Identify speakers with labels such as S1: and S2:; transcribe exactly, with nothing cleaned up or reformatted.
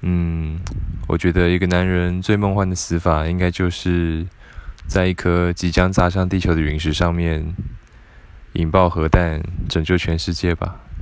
S1: 嗯，我觉得一个男人最梦幻的死法，应该就是在一颗即将砸向地球的陨石上面引爆核弹，拯救全世界吧。